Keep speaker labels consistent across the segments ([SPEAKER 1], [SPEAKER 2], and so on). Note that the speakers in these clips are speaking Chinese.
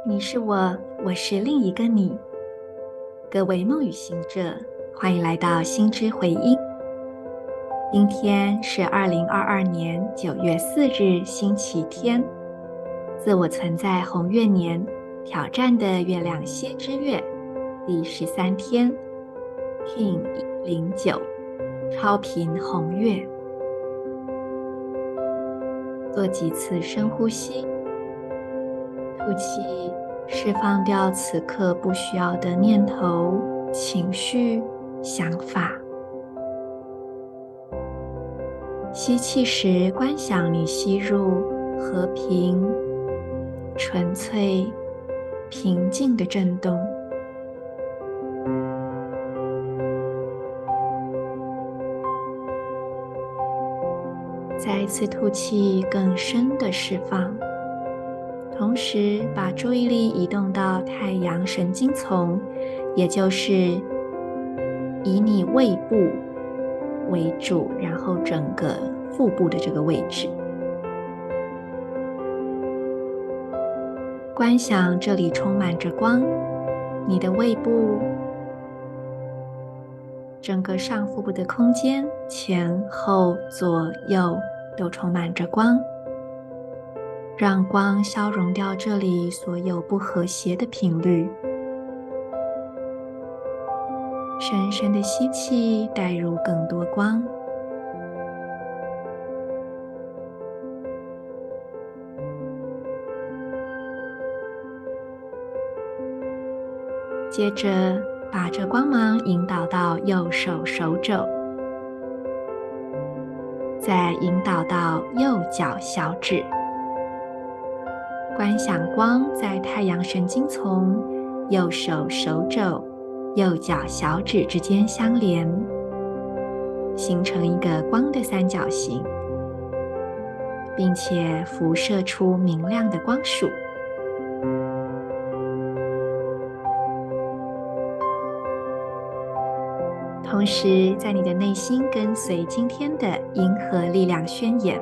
[SPEAKER 1] 你是我，我是另一个你。各位梦语行者，欢迎来到心之回音。今天是2022年9月4日，星期天，自我存在红月年挑战的月亮蝎之月第13天 King 109超频红月。做几次深呼吸，吐气，释放掉此刻不需要的念头、情绪、想法。吸气时，观想你吸入和平、纯粹、平静的震动。再一次吐气，更深的释放。同时把注意力移动到太阳神经丛，也就是以你胃部为主，然后整个腹部的这个位置。观想这里充满着光，你的胃部，整个上腹部的空间，前后左右都充满着光。让光消融掉这里所有不和谐的频率。深深的吸气，带入更多光。接着把这光芒引导到右手手肘，再引导到右脚小指。观想光在太阳神经丛、右手手肘、右脚小指之间相连，形成一个光的三角形，并且辐射出明亮的光束。同时，在你的内心跟随今天的银河力量宣言。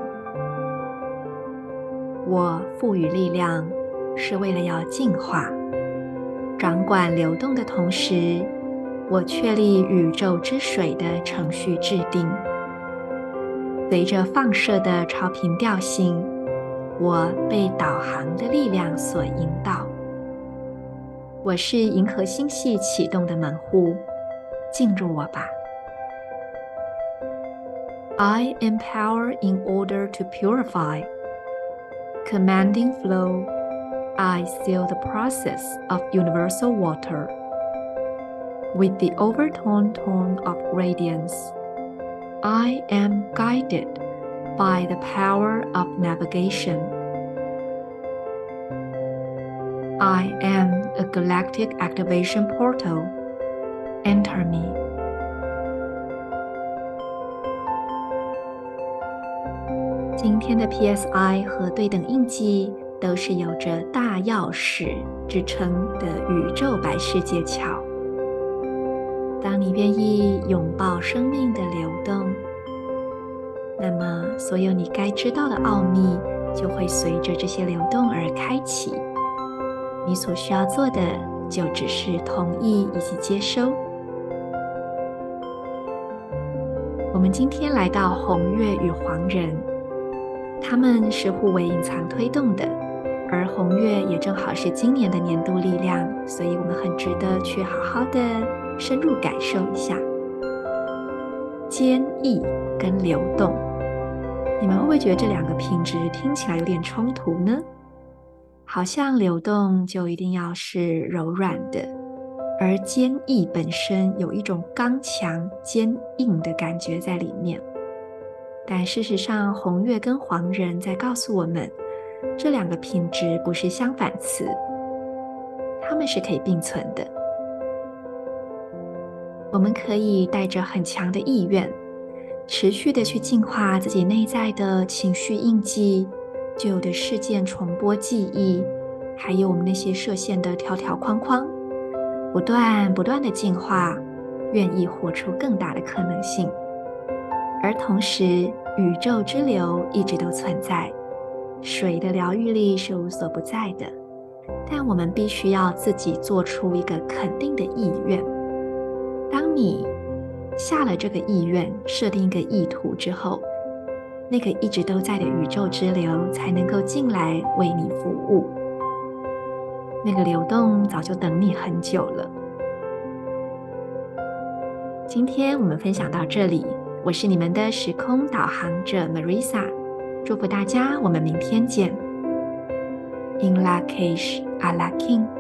[SPEAKER 1] 我赋予力量，是为了要净化、掌管流动的同时，我确立宇宙之水的程序制定。随着放射的超频调性，我被导航的力量所引导。我是银河星系启动的门户，进入我吧。I empower in order to purify.Commanding flow, I seal the process of universal water. With the overtone tone of radiance, I am guided by the power of navigation. I am a galactic activation portal. Enter me.今天的 PSI 和对等印记都是有着大钥匙之称的宇宙白世界桥。当你愿意拥抱生命的流动，那么所有你该知道的奥秘就会随着这些流动而开启。你所需要做的就只是同意以及接收。我们今天来到红月与黄人，他们是互为隐藏推动的，而红月也正好是今年的年度力量，所以我们很值得去好好的深入感受一下坚毅跟流动。你们会不会觉得这两个品质听起来有点冲突呢？好像流动就一定要是柔软的，而坚毅本身有一种刚强坚硬的感觉在里面。但事实上，红月跟黄人在告诉我们，这两个品质不是相反词，它们是可以并存的。我们可以带着很强的意愿，持续的去净化自己内在的情绪印记、旧有的事件重播记忆，还有我们那些设限的条条框框，不断的净化，愿意活出更大的可能性。而同时，宇宙之流一直都存在，水的疗愈力是无所不在的， 但我们必须要自己做出一个肯定的意愿。当你下了这个意愿，设定一个意图之后，那个一直都在的宇宙之流才能够进来为你服务。那个流动早就等你很久了。今天我们分享到这里，我是你们的时空导航者 Marisa， 祝福大家，我们明天见。In Lak'ech Ala K'in。